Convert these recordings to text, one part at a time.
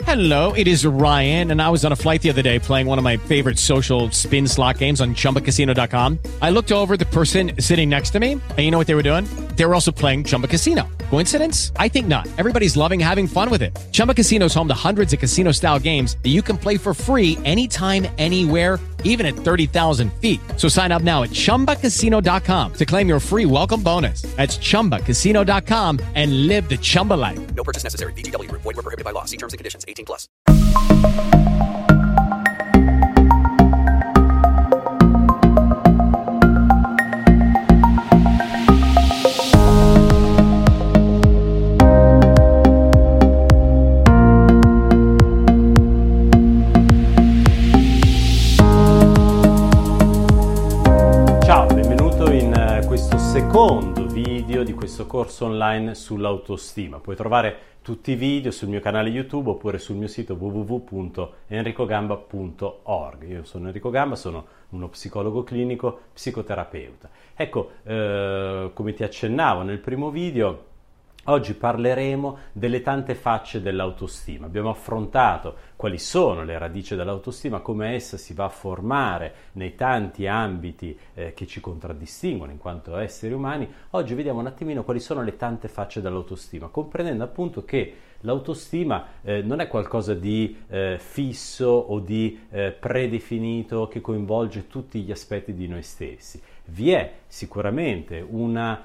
Hello, it is Ryan, and I was on a flight the other day playing one of my favorite social spin slot games on ChumbaCasino.com. I looked over at the person sitting next to me, and you know what they were doing? They were also playing Chumba Casino. Coincidence? I think not. Everybody's loving having fun with it. Chumba Casino is home to hundreds of casino-style games that you can play for free anytime, anywhere, even at 30,000 feet. So sign up now at ChumbaCasino.com to claim your free welcome bonus. That's ChumbaCasino.com and live the Chumba life. No purchase necessary. VGW Group. Void where prohibited by law. See terms and conditions. 18 plus. Ciao, benvenuto in questo secondo video di questo corso online sull'autostima. Puoi trovare tutti i video sul mio canale YouTube oppure sul mio sito www.enricogamba.org. Io sono Enrico Gamba, sono uno psicologo clinico, psicoterapeuta. Ecco, come ti accennavo nel primo video, oggi parleremo delle tante facce dell'autostima. Abbiamo affrontato quali sono le radici dell'autostima, come essa si va a formare nei tanti ambiti che ci contraddistinguono in quanto esseri umani. Oggi vediamo un attimino quali sono le tante facce dell'autostima, comprendendo appunto che l'autostima non è qualcosa di fisso o di predefinito che coinvolge tutti gli aspetti di noi stessi. Vi è sicuramente un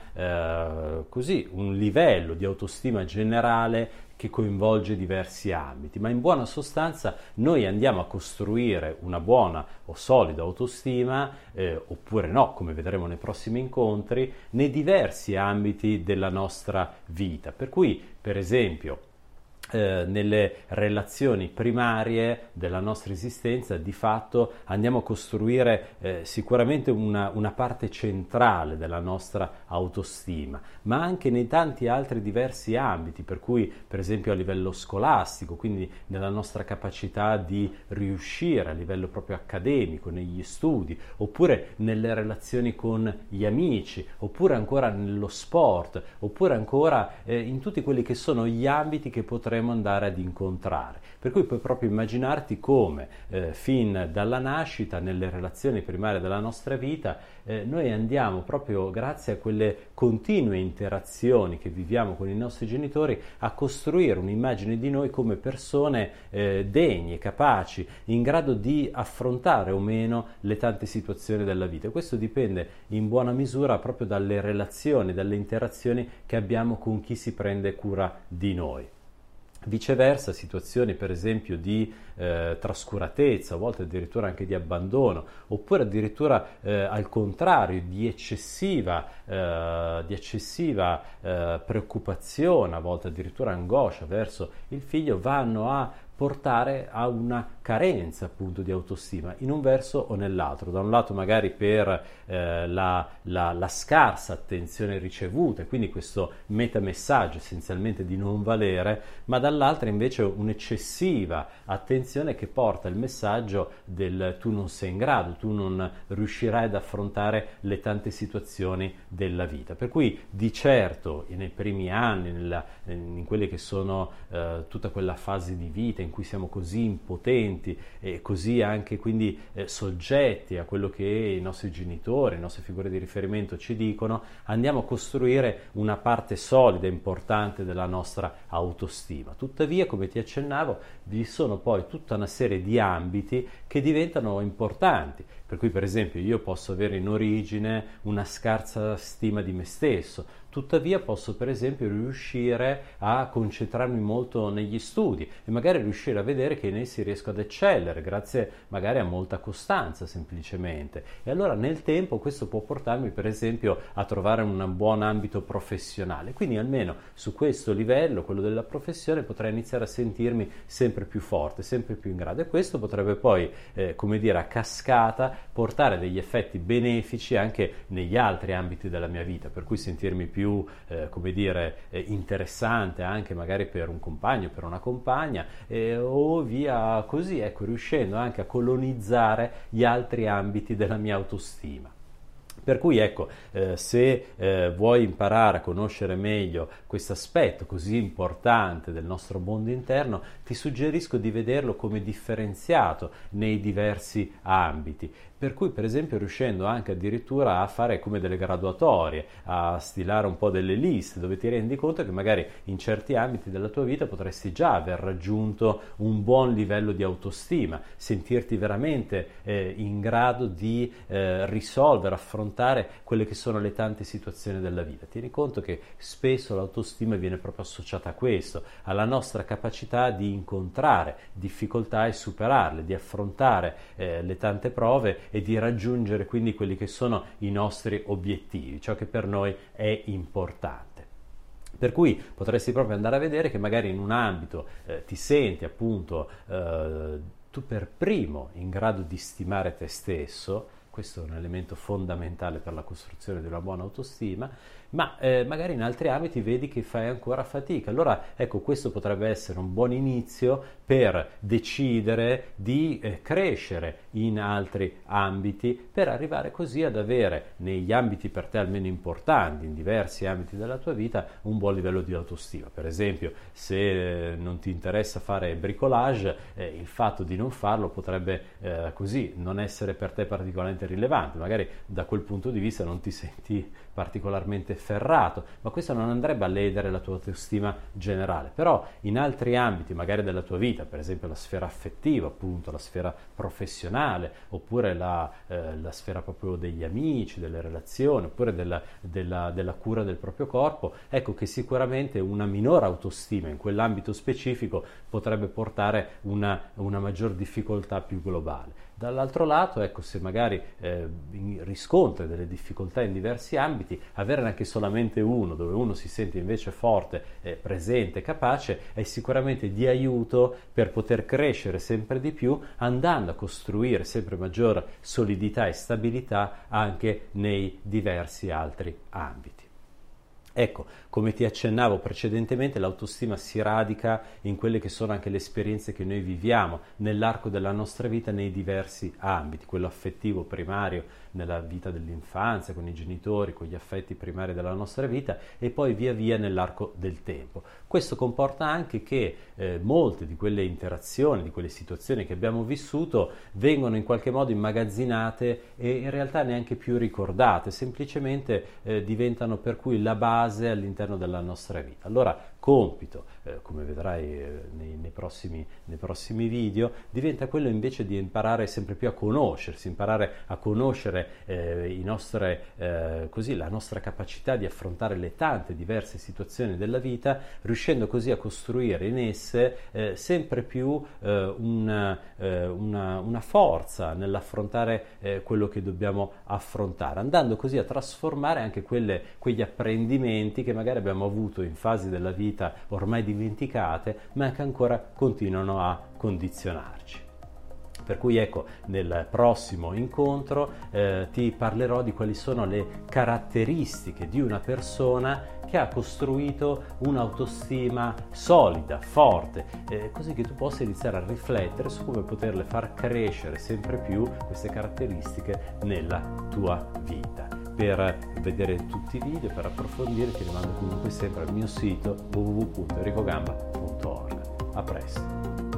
livello di autostima generale che coinvolge diversi ambiti, ma in buona sostanza noi andiamo a costruire una buona o solida autostima, oppure no, come vedremo nei prossimi incontri, nei diversi ambiti della nostra vita. Per cui, per esempio, nelle relazioni primarie della nostra esistenza, di fatto andiamo a costruire sicuramente una parte centrale della nostra autostima, ma anche nei tanti altri diversi ambiti, per cui per esempio a livello scolastico, quindi nella nostra capacità di riuscire a livello proprio accademico, negli studi, oppure nelle relazioni con gli amici, oppure ancora nello sport, oppure ancora in tutti quelli che sono gli ambiti che potremmo andare ad incontrare. Per cui puoi proprio immaginarti come fin dalla nascita, nelle relazioni primarie della nostra vita, noi andiamo proprio grazie a quelle continue interazioni che viviamo con i nostri genitori a costruire un'immagine di noi come persone degne, capaci, in grado di affrontare o meno le tante situazioni della vita. Questo dipende in buona misura proprio dalle relazioni, dalle interazioni che abbiamo con chi si prende cura di noi. Viceversa, situazioni per esempio di trascuratezza, a volte addirittura anche di abbandono, oppure addirittura al contrario di eccessiva preoccupazione, a volte addirittura angoscia verso il figlio, vanno a portare a una carenza appunto di autostima in un verso o nell'altro. Da un lato magari per la scarsa attenzione ricevuta, quindi questo metamessaggio essenzialmente di non valere, ma dall'altra invece un'eccessiva attenzione che porta il messaggio del tu non sei in grado, tu non riuscirai ad affrontare le tante situazioni della vita. Per cui di certo nei primi anni, in quelle che sono tutta quella fase di vita in cui siamo così impotenti e così anche quindi soggetti a quello che i nostri genitori, le nostre figure di riferimento ci dicono, andiamo a costruire una parte solida e importante della nostra autostima. Tuttavia, come ti accennavo, vi sono poi tutta una serie di ambiti che diventano importanti, per cui per esempio io posso avere in origine una scarsa stima di me stesso, tuttavia posso per esempio riuscire a concentrarmi molto negli studi e magari riuscire a vedere che in essi riesco ad eccellere grazie magari a molta costanza semplicemente, e allora nel tempo questo può portarmi per esempio a trovare un buon ambito professionale, quindi almeno su questo livello, quello della professione, potrei iniziare a sentirmi sempre più forte, sempre più in grado, e questo potrebbe poi come dire a cascata portare degli effetti benefici anche negli altri ambiti della mia vita, per cui sentirmi più interessante anche magari per un compagno, per una compagna, o via così, ecco, riuscendo anche a colonizzare gli altri ambiti della mia autostima. Per cui ecco, se vuoi imparare a conoscere meglio questo aspetto così importante del nostro mondo interno, ti suggerisco di vederlo come differenziato nei diversi ambiti. Per cui, per esempio, riuscendo anche addirittura a fare come delle graduatorie, a stilare un po' delle liste dove ti rendi conto che magari in certi ambiti della tua vita potresti già aver raggiunto un buon livello di autostima, sentirti veramente in grado di risolvere, affrontare quelle che sono le tante situazioni della vita. Tieni conto che spesso l'autostima viene proprio associata a questo, alla nostra capacità di incontrare difficoltà e superarle, di affrontare le tante prove e di raggiungere quindi quelli che sono i nostri obiettivi, ciò che per noi è importante. Per cui potresti proprio andare a vedere che magari in un ambito ti senti appunto tu per primo in grado di stimare te stesso. Questo è un elemento fondamentale per la costruzione di una buona autostima, ma magari in altri ambiti vedi che fai ancora fatica. Allora ecco, questo potrebbe essere un buon inizio per decidere di crescere in altri ambiti, per arrivare così ad avere negli ambiti per te almeno importanti, in diversi ambiti della tua vita, un buon livello di autostima. Per esempio, se non ti interessa fare bricolage, il fatto di non farlo potrebbe così non essere per te particolarmente rilevante, magari da quel punto di vista non ti senti particolarmente ferrato, ma questo non andrebbe a ledere la tua autostima generale. Però in altri ambiti magari della tua vita, per esempio la sfera affettiva, appunto la sfera professionale, oppure la sfera proprio degli amici, delle relazioni, oppure della cura del proprio corpo, ecco che sicuramente una minore autostima in quell'ambito specifico potrebbe portare una maggior difficoltà più globale. Dall'altro lato, ecco, se magari riscontri delle difficoltà in diversi ambiti, averne anche solamente uno dove uno si sente invece forte, presente, capace, è sicuramente di aiuto per poter crescere sempre di più, andando a costruire sempre maggior solidità e stabilità anche nei diversi altri ambiti. Ecco, come ti accennavo precedentemente, l'autostima si radica in quelle che sono anche le esperienze che noi viviamo nell'arco della nostra vita nei diversi ambiti, quello affettivo primario nella vita dell'infanzia, con i genitori, con gli affetti primari della nostra vita, e poi via via nell'arco del tempo. Questo comporta anche che molte di quelle interazioni, di quelle situazioni che abbiamo vissuto vengono in qualche modo immagazzinate e in realtà neanche più ricordate, semplicemente diventano per cui la base all'interno della nostra vita. Allora, compito, come vedrai nei prossimi video, diventa quello invece di imparare sempre più a conoscersi, imparare a conoscere la nostra capacità di affrontare le tante diverse situazioni della vita, riuscendo così a costruire in esse sempre più una forza nell'affrontare quello che dobbiamo affrontare, andando così a trasformare anche quegli apprendimenti che magari abbiamo avuto in fasi della vita ormai dimenticate, ma che ancora continuano a condizionarci. Per cui ecco, nel prossimo incontro ti parlerò di quali sono le caratteristiche di una persona che ha costruito un'autostima solida, forte, così che tu possa iniziare a riflettere su come poterle far crescere sempre più queste caratteristiche nella tua vita. Per vedere tutti i video, per approfondire, ti rimando comunque sempre al mio sito www.enricogamba.org. A presto!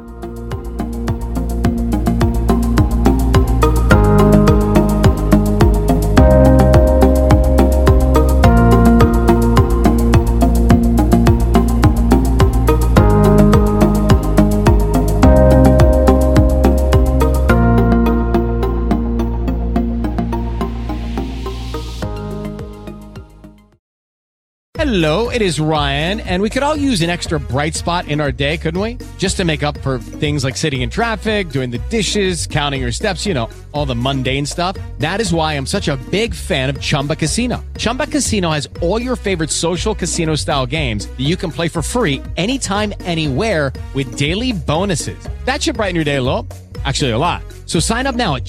Hello, it is Ryan, and we could all use an extra bright spot in our day, couldn't we? Just to make up for things like sitting in traffic, doing the dishes, counting your steps, all the mundane stuff. That is why I'm such a big fan of Chumba Casino. Chumba Casino has all your favorite social casino-style games that you can play for free anytime, anywhere with daily bonuses. That should brighten your day a little. Actually, a lot. So sign up now at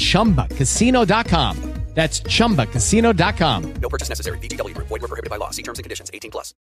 ChumbaCasino.com. That's ChumbaCasino.com. No purchase necessary. VGW Group. Void where prohibited by law. See terms and conditions. 18+.